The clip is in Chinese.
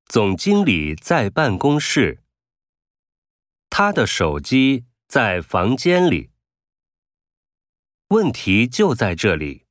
总经理在办公室，他的手机在房间里。问题就在这里。